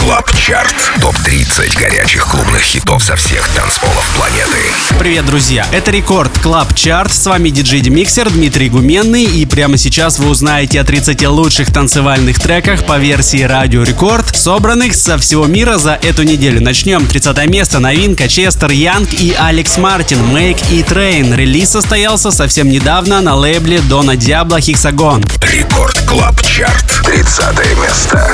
Клаб Чарт. Топ-30 горячих клубных хитов со всех танцполов планеты. Привет, друзья! Это Рекорд Клаб Чарт. С вами диджей-демиксер Дмитрий Гуменный. И прямо сейчас вы узнаете о 30 лучших танцевальных треках по версии Радио Рекорд, собранных со всего мира за эту неделю. Начнем. 30 место. Новинка Честер Янг и Алекс Мартин. Make It Rain. Релиз состоялся совсем недавно на лейбле Дона Диабло Hexagon. Рекорд Клаб Чарт. 30 место.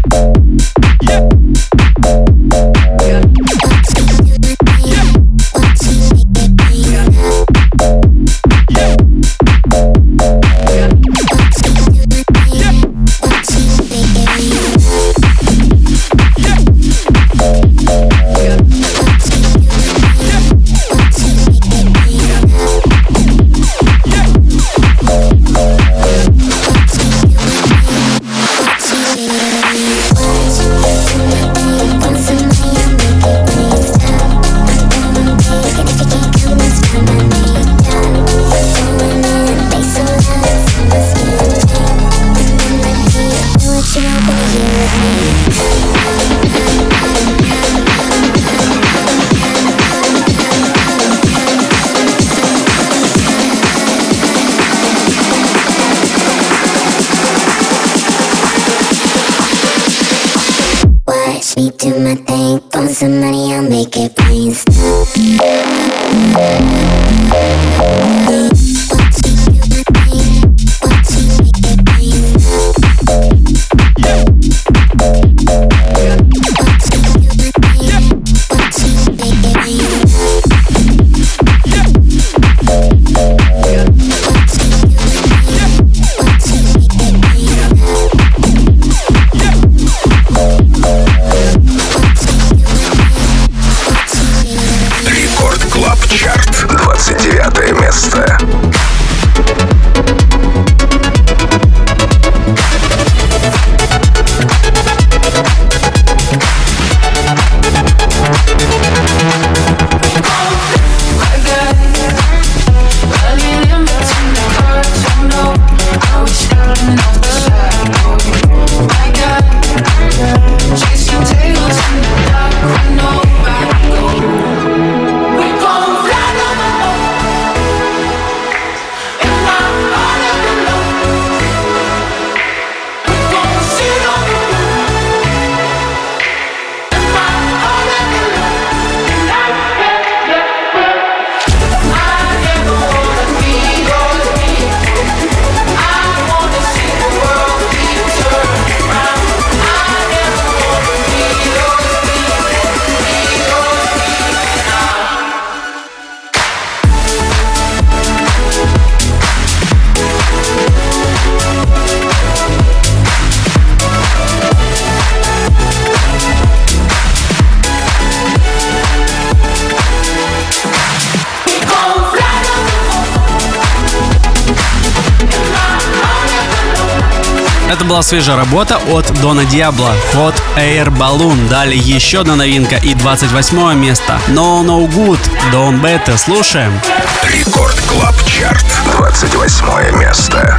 Me do my thing, want some money, I'll make it rain. Чарт. 29 место. Это была свежая работа от Дона Диабло, Hot Air Balloon. Далее еще одна новинка и 28 место. No No Good, Don Beta. Слушаем. Рекорд Клаб Чарт. 28 место.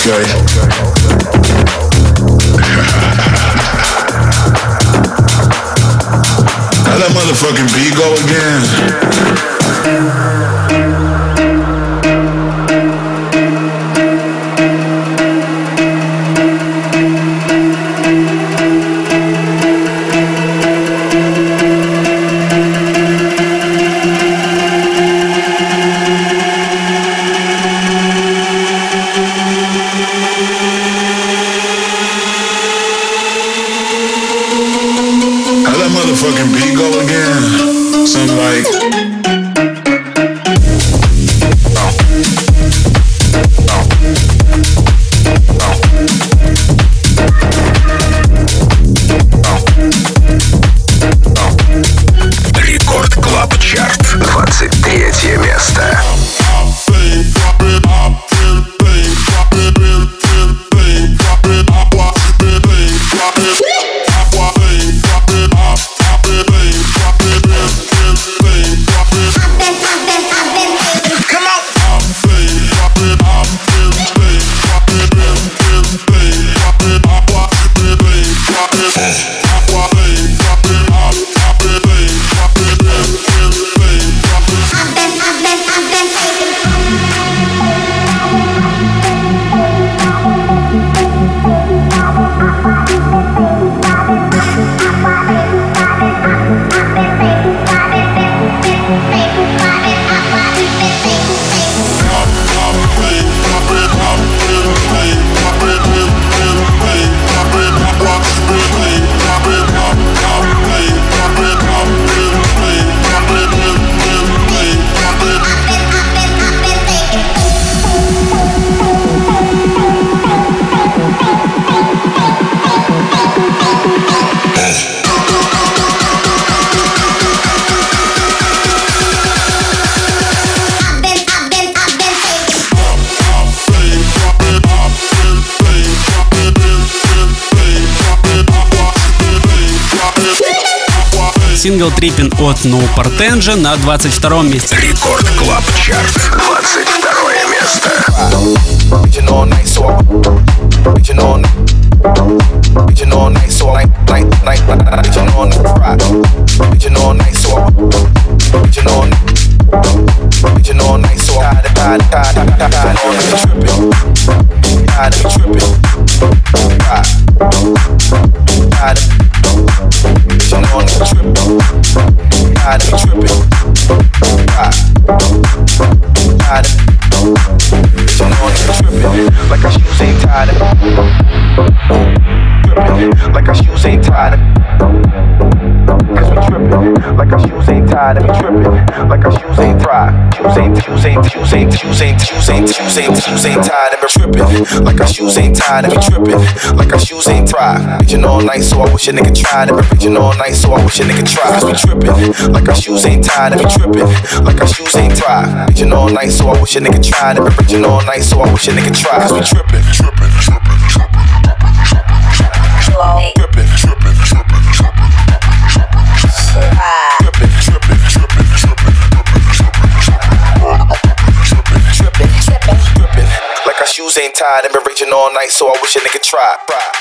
Okay. Now that motherfucking beat go again. Motherfucking beat go again. Something like Рекорд Клаб Чарт, 23 место. Сингл Trippin' от No Portenja на 22-м месте. Рекорд Клаб Чарт, 22 место. Like our shoes ain't tied up. Trippin', like our shoes ain't tied up. Cause we trippin', like our shoes ain't tied up. We trippin', like our shoes ain't tied. Shoes ain't tied. And we trippin', like our shoes ain't tied. And we trippin', like our shoes ain't tied. Bitchin' all night, so I wish a nigga tried. And we bitchin' all night, so I wish a nigga tried. Cause we trippin', like our shoes ain't tied. And we trippin', like our shoes ain't tied. Bitchin' all night, so I wish a nigga tried. And we bitchin' all night, so I wish a nigga tried. Cause we trippin', trippin', trippin', trippin', trippin', trippin', trippin', trippin', like our shoes ain't tied and been reaching all night, so I wish a nigga tried.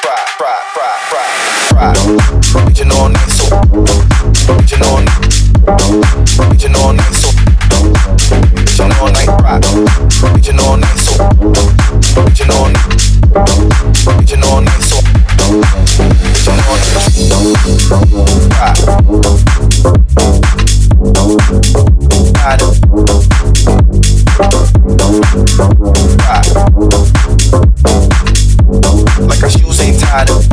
Reaching all night, so reaching all night, reaching all night, so reaching all night, reaching all night, so reaching all night, reaching all night, so reaching all like our shoes ain't tied up.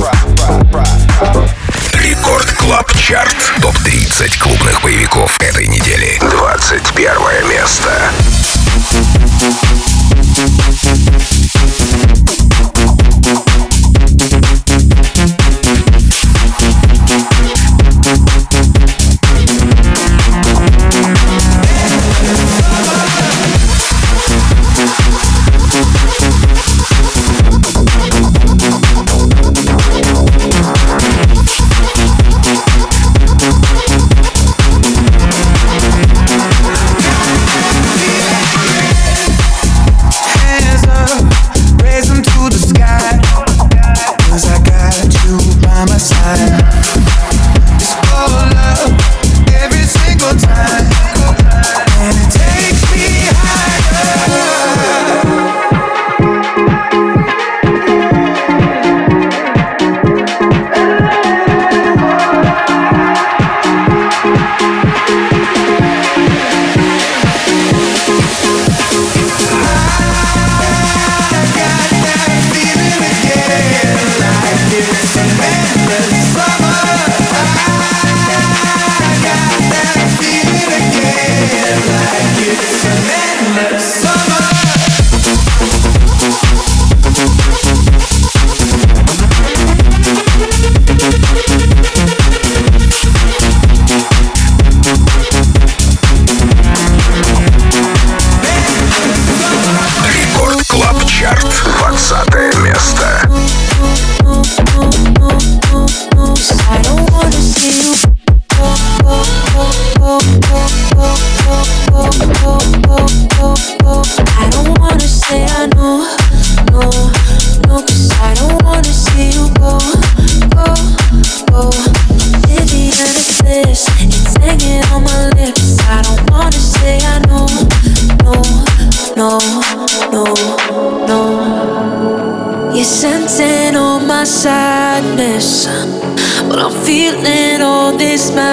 Рекорд Клаб Чарт. Топ-30 клубных боевиков этой недели. 21 место.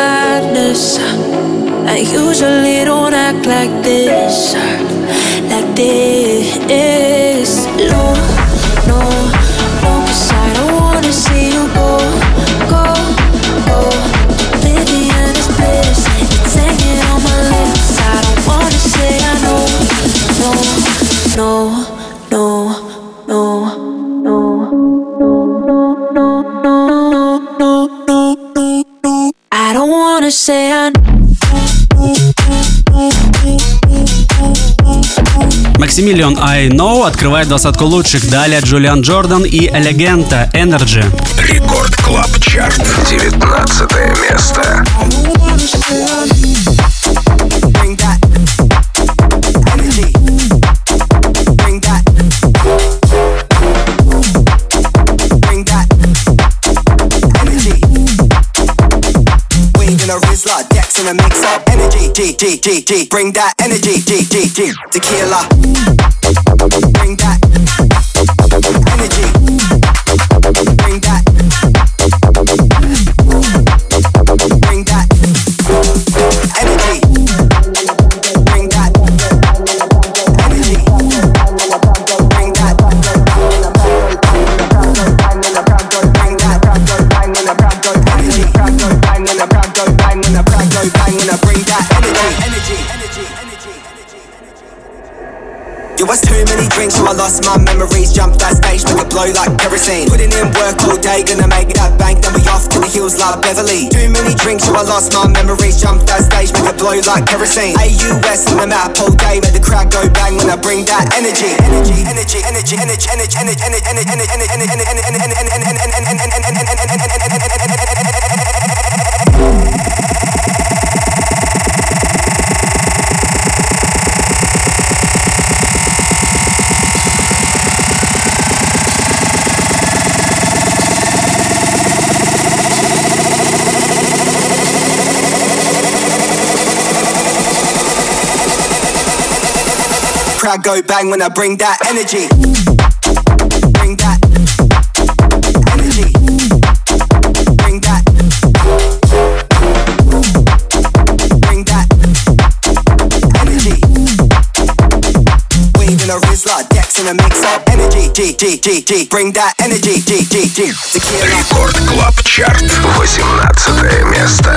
madness. I usually don't act like this, like this. No, no, no, 'cause I don't wanna see you go, go, go. Oblivion is bliss, it's hanging on my lips. I don't wanna say I know, no, no, no, no, no, no, no, no, no. I don't wanna say I know. Maximilian I Know открывает двадцатку лучших. Далее Джулиан Джордан и Элегента Energy. Рекорд Клаб Чарт, 19 место. In a mix up energy, G, bring that energy, G, tequila, bring that energy, bring that, bring that energy, bring that energy, bring that, Yo, what's too many drinks, so I lost my memories. Jumped that stage, make it blow like kerosene. Putting in work all day, gonna make that bank. Then we off to the hills like Beverly. Too many drinks, so I lost my memories. Jumped that stage, make it blow like kerosene. AUS on the map all day, make the crowd go bang when I bring that energy. Energy, energy, energy, energy, energy, energy, energy, crowd go bang when I bring that energy. Bring that energy. Bring that. Bring that energy. Weed in a Rizla, Dex in a mix up energy. G. Bring that energy. G. Tequila. Рекорд Клаб Чарт, 18 место.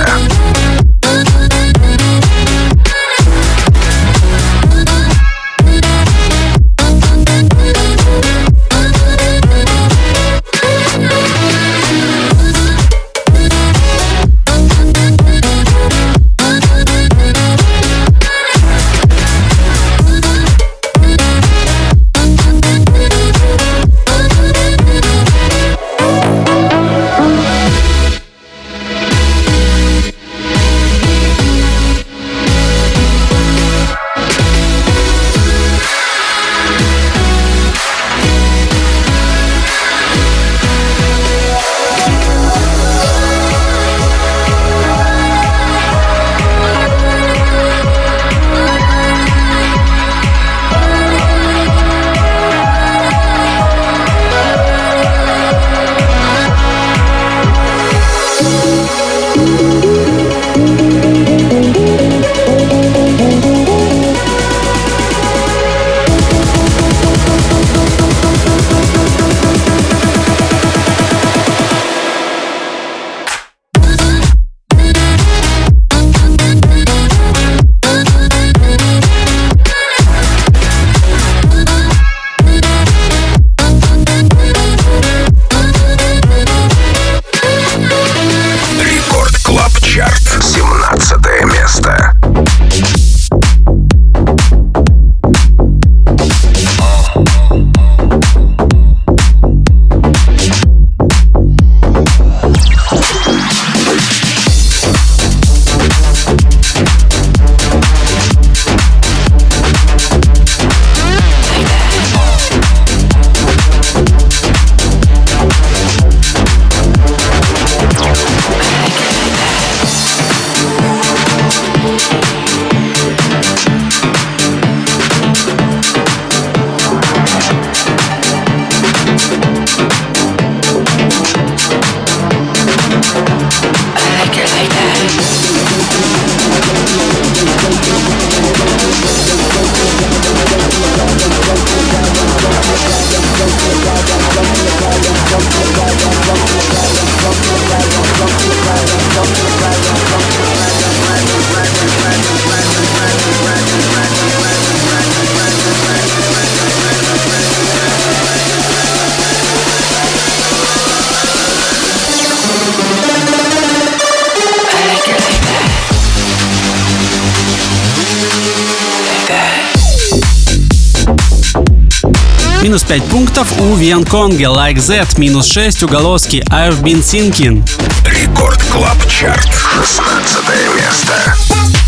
Минус 5 пунктов у Вианконга, Like That. Минус 6 у Голоски, I've Been Thinking. Рекорд Клаб Чарт, 16 место.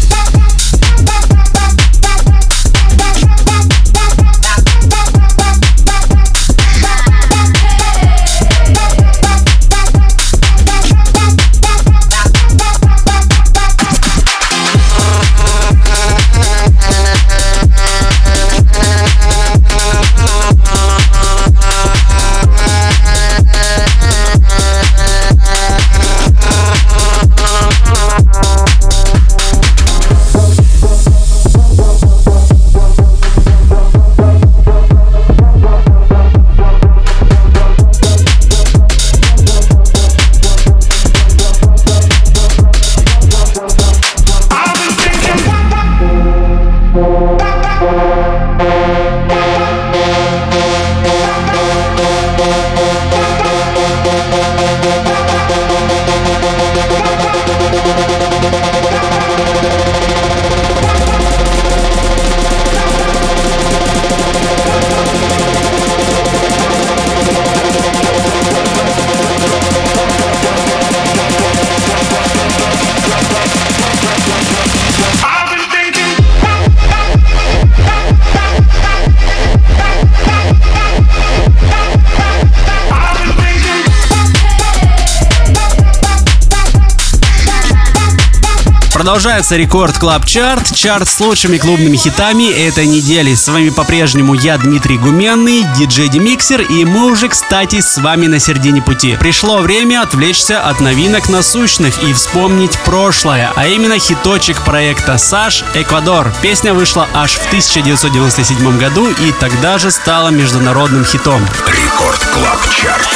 Продолжается Рекорд Клаб Чарт, чарт с лучшими клубными хитами этой недели. С вами по-прежнему я, Дмитрий Гуменный, диджей Демиксер, и мы уже, кстати, с вами на середине пути. Пришло время отвлечься от новинок насущных и вспомнить прошлое, а именно хиточек проекта Саш «Эквадор». Песня вышла аж в 1997 году и тогда же стала международным хитом. Рекорд Клаб Чарт.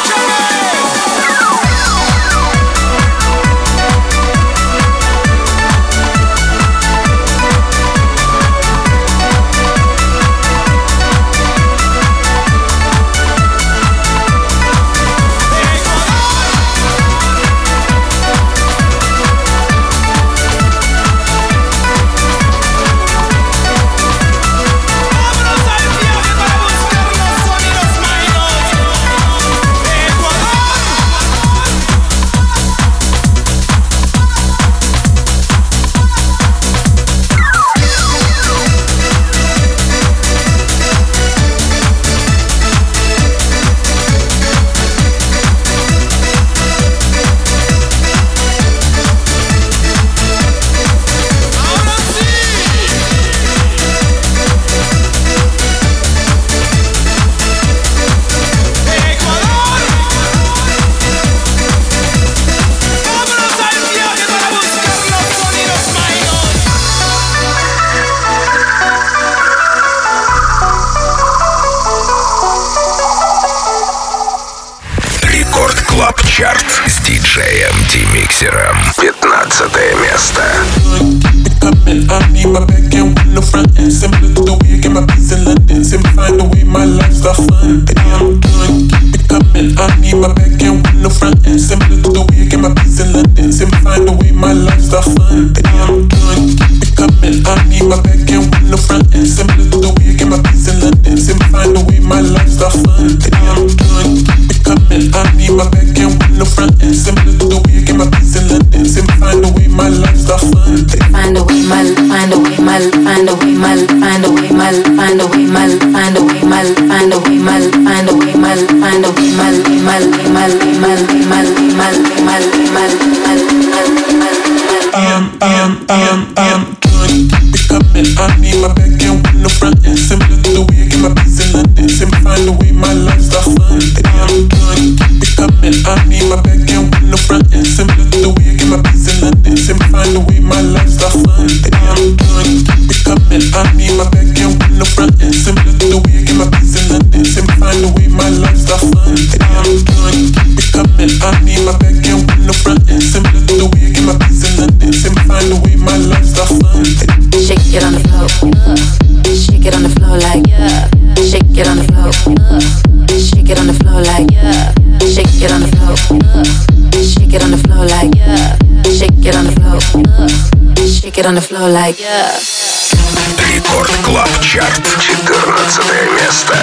Чарт с диджеем Демиксером. 15 место. I need my back and with no front end. Similar to the way I get my peace in London. Simplifying the way my life's fun. I'm done, keep it coming. I need my back and with no front end. Similar to the way I get my peace in London. Simplifying the way my life's fun. I'm done, keep it coming. I need my back and with no front end. Similar to the way I get my peace in London. Simplifying the way my life's fun. I'm done, keep it coming. I need my back and with no front end. Similar to the way I get my peace in London. Simplifying the way my life's fun. Find a way, find a way, find a way, find a way, find a way, find a way, find a way, find a way, find a way, find a I need my back and with no front end. Similar to the way I get my peace in London. Simplifying the way my life's fun. I'm done, keep it coming. I need my back and with no front end. Similar to the way I get my peace in London. Simplifying find the way my life's fun. Baby, I'm done, keep it coming. I need my back end with no front end. Similar to the way I get my peace in London. Simply find the way my life's fun. Baby, I'm done, keep it coming. I need my back end with no front end. Similar to the way I get my peace in London. Simply find the way my life's fun. Shake it on the floor, shake it on the floor like yeah. Shake it on the floor, shake it on the floor like yeah. Shake it on the floor, shake it on the floor like yeah. Shake it on the floor, shake it on the floor like yeah. Рекорд Клаб Чарт, 14 место.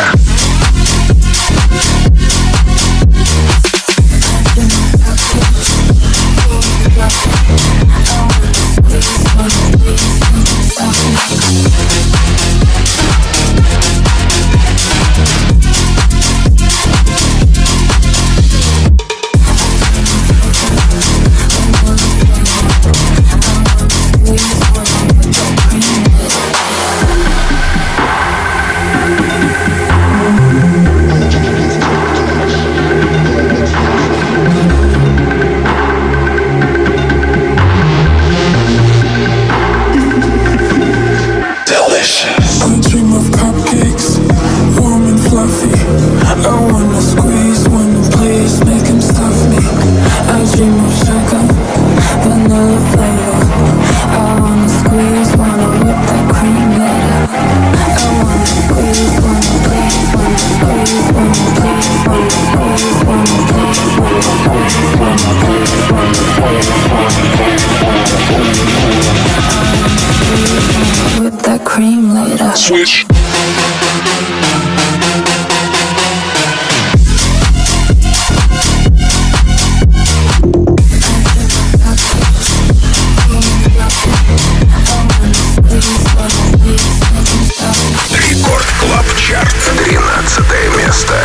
Switch. Рекорд Клаб Чарт, 13 место.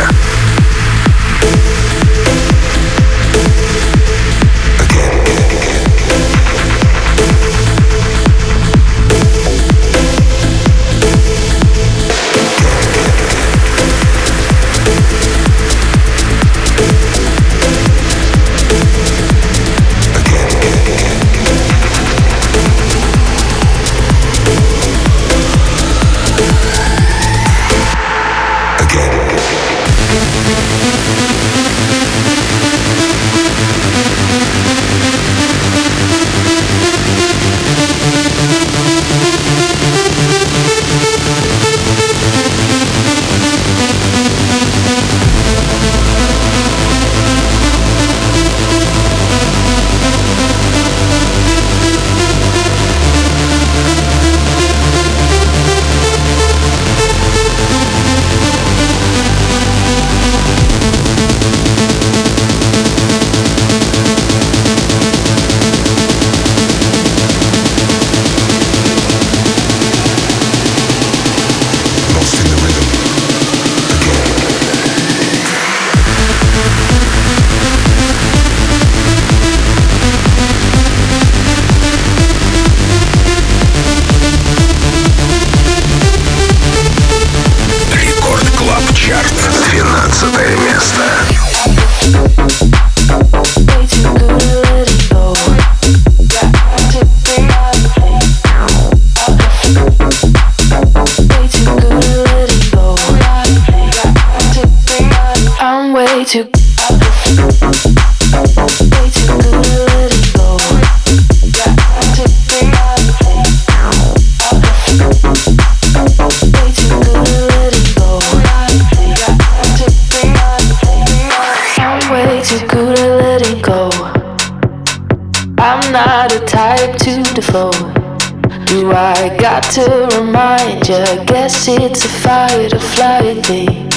Do I got to remind you? Guess it's a fight or flight thing.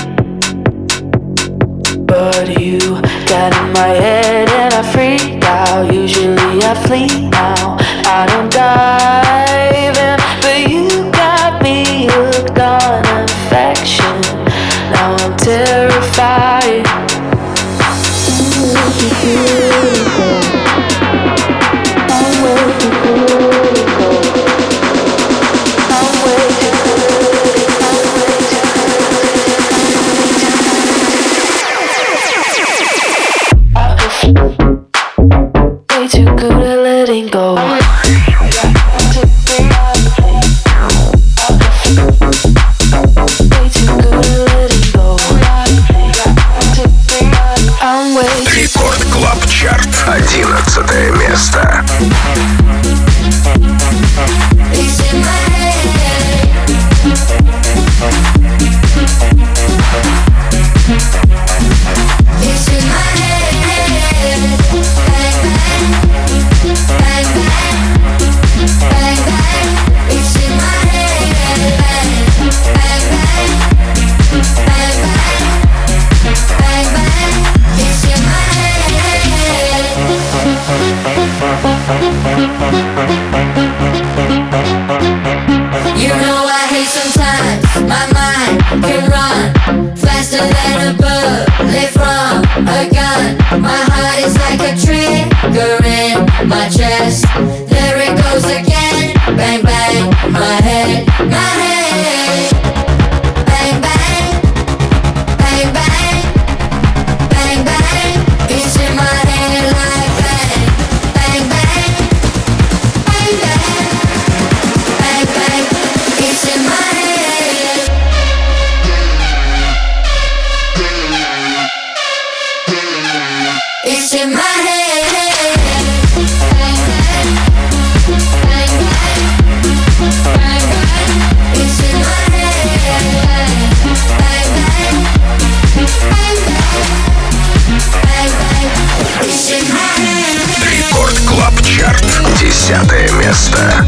But you got in my head and I freak out. Usually I flee now. I don't dive in, but you got me hooked on affection. Now I'm terrified. Way too good at letting go. Рекорд Клаб Чарт. 11 место. Рекорд Клаб Чарт. 10 место.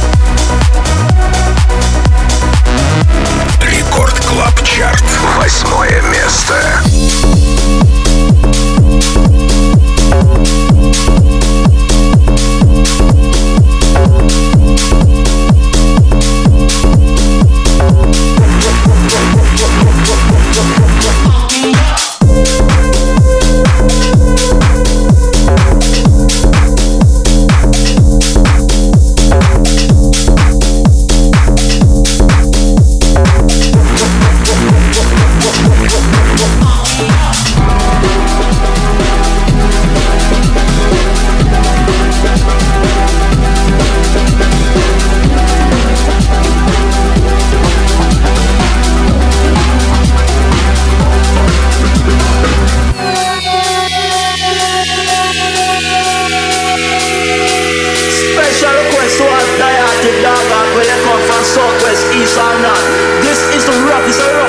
Рекорд Клаб Чарт. 8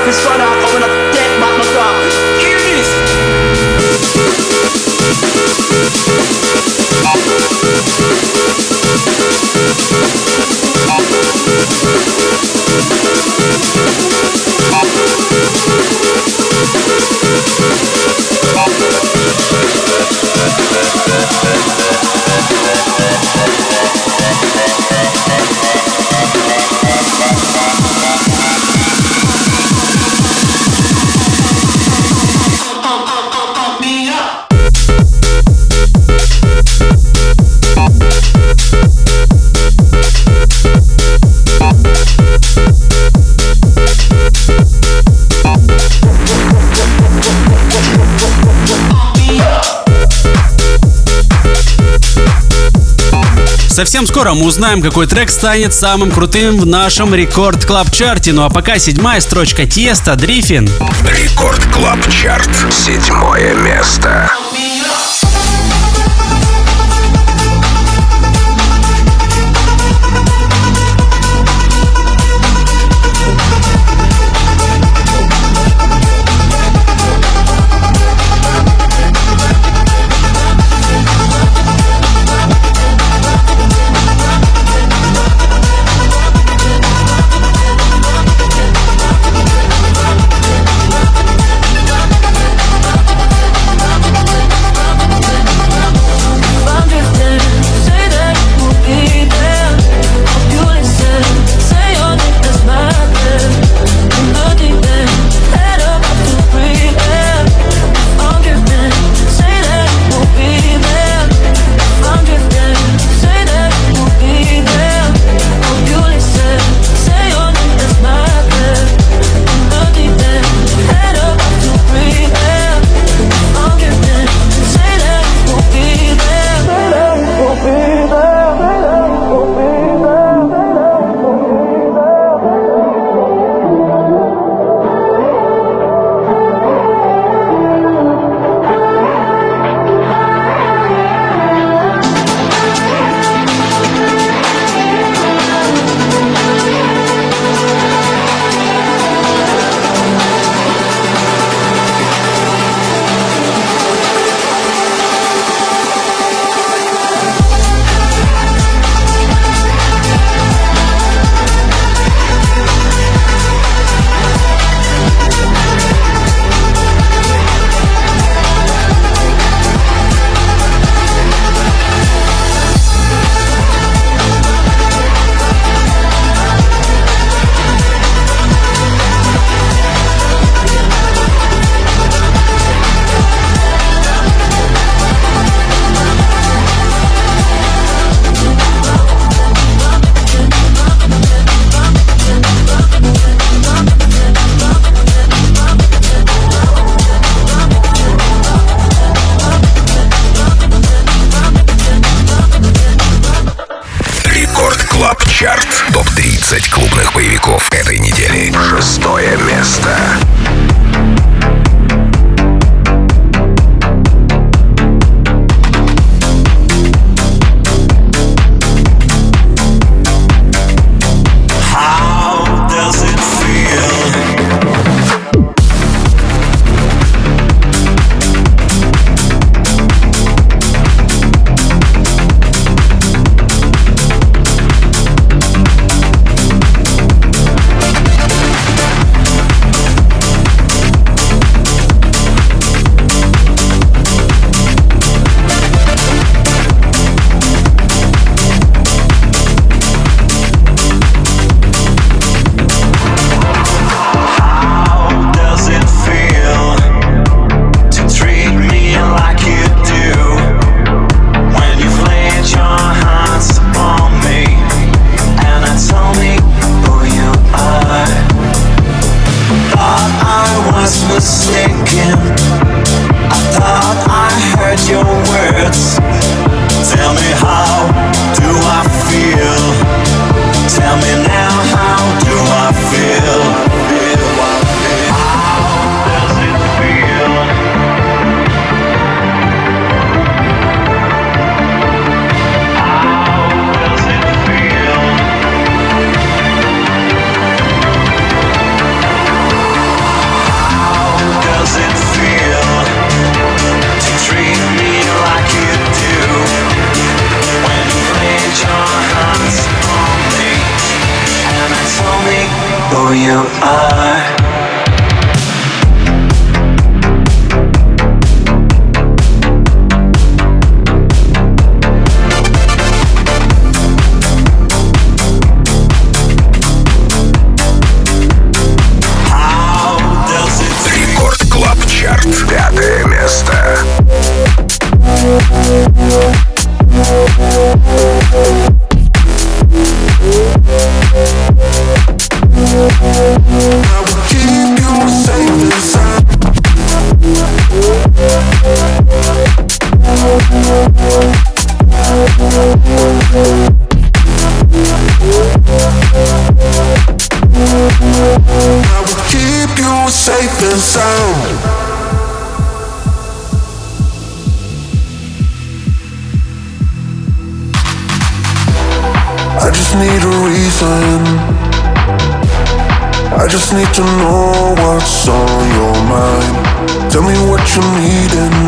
this run out, I'm gonna get back my car. Hear this. Совсем скоро мы узнаем, какой трек станет самым крутым в нашем Рекорд Клаб Чарте. Ну а пока 7-я строчка Тиеста, Дрифин. Рекорд Клаб Чарт, 7-е место. Чарт. Топ-30 клубных боевиков этой недели. 6-е место. safe and sound. I just need a reason. I just need to know what's on your mind. Tell me what you're needing.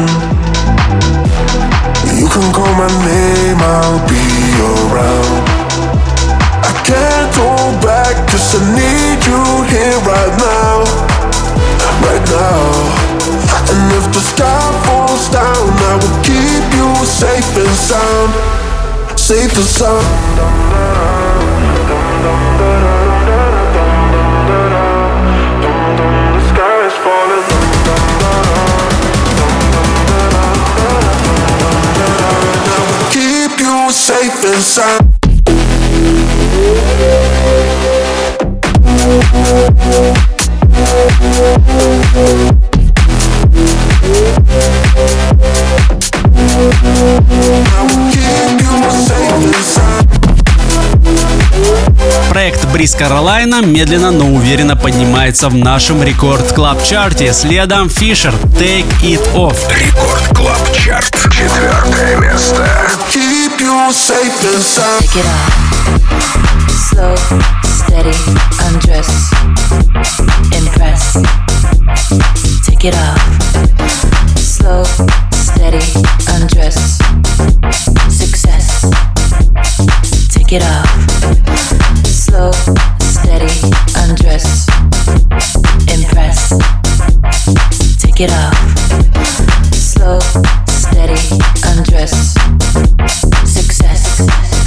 You can call my name, I'll be around. I can't go back, 'cause I need you here right now. Right now. And if the sky falls down, I will keep you safe and sound. Safe and sound. The sky is falling. Keep you safe and sound. Проект Бриз Каролайна медленно, но уверенно поднимается в нашем Рекорд Клаб Чарте. Следом Фишер Take It Off. Рекорд Клаб Чарт. 4 место. Keep you safe and sound. Take it off. Slow, steady, undress. Impress. Take it off. Slow, steady, undress. Success. Take it off. Slow, steady, undress. Impress. Take it off. Slow, steady, undress. Success.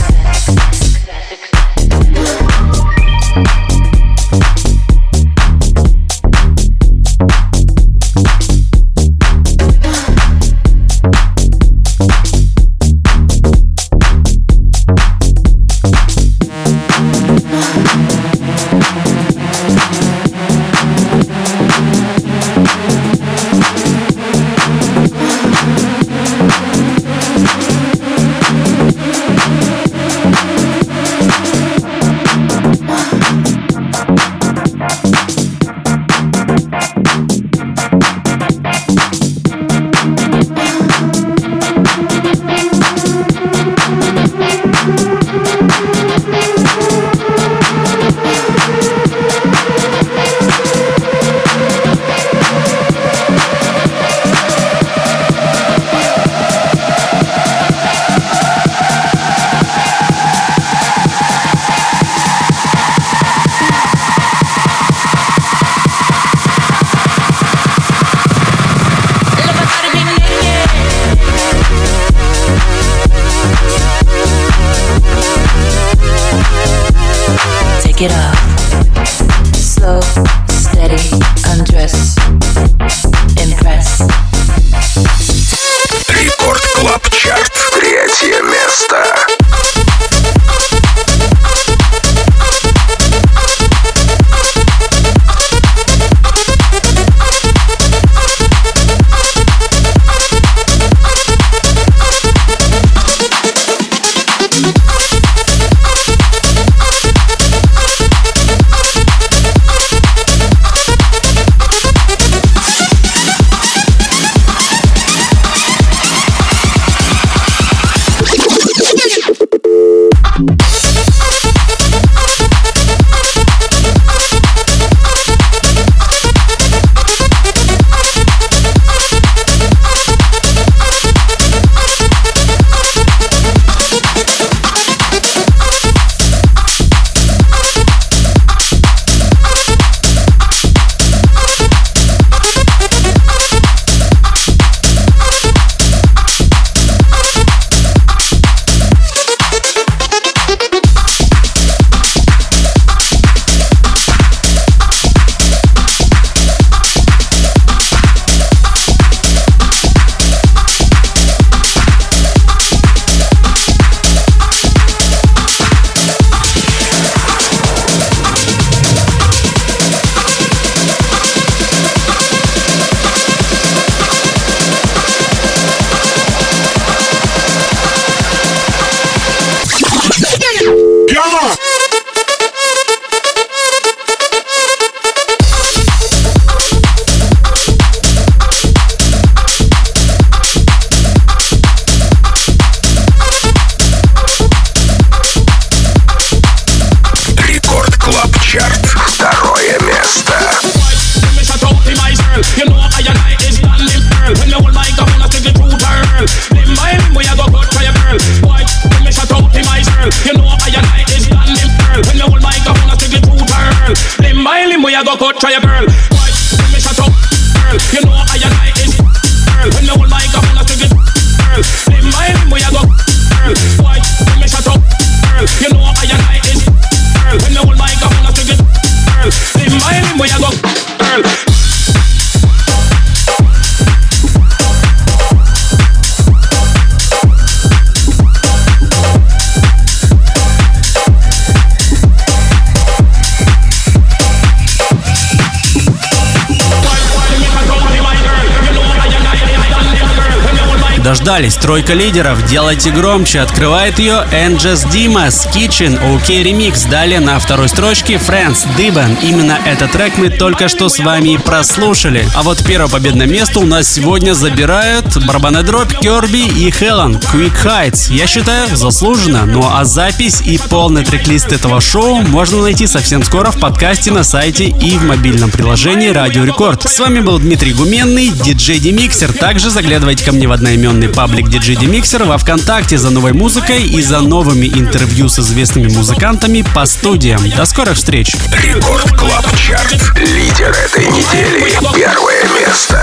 Take it off. Slow, steady, undress. Impress. Рекорд Клаб Чарт. 3 место. go cut try a girl. Why me shut up, girl? You know I and I is girl. When you hold my cup on a stick it, girl. Limb by limb we a go, girl. Why me shut up, girl? You know I and I is girl. When you hold my cup on a stick it, girl. Limb by limb we a go, girl. Дождались, тройка лидеров, делайте громче, открывает ее Angels Dimas, Kitchen, OK Remix, далее на второй строчке Friends, Dibben. Именно этот трек мы только что с вами прослушали. А вот первое победное место у нас сегодня забирают барабанная дробь, Kirby и Helen, Quick Heights. Я считаю, заслуженно. Ну а запись и полный трек-лист этого шоу можно найти совсем скоро в подкасте на сайте и в мобильном приложении Радио Рекорд. С вами был Дмитрий Гуменный, диджей Демиксер. Также заглядывайте ко мне в одноименный паблик DJ Demixer во ВКонтакте за новой музыкой и за новыми интервью с известными музыкантами по студиям. До скорых встреч! Рекорд Клаб Чарт. Лидер этой недели. Первое место.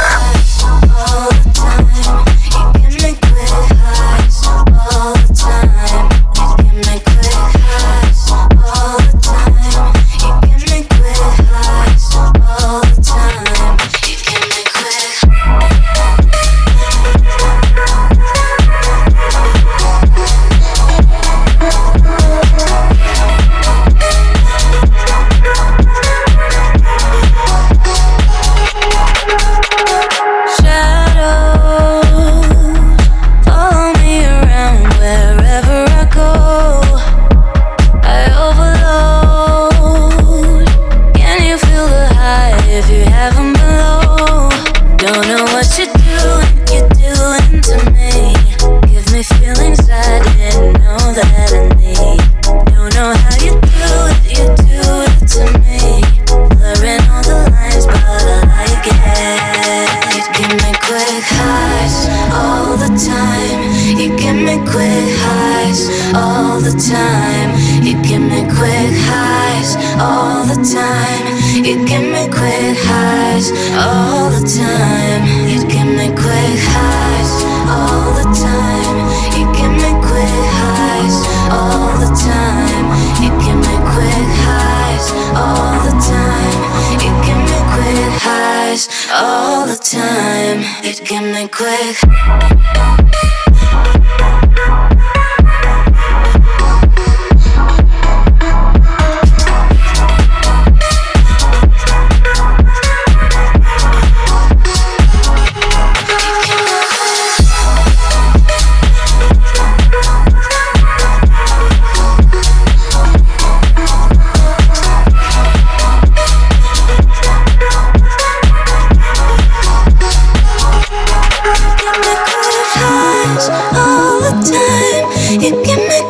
All the time, it can be quick. You give me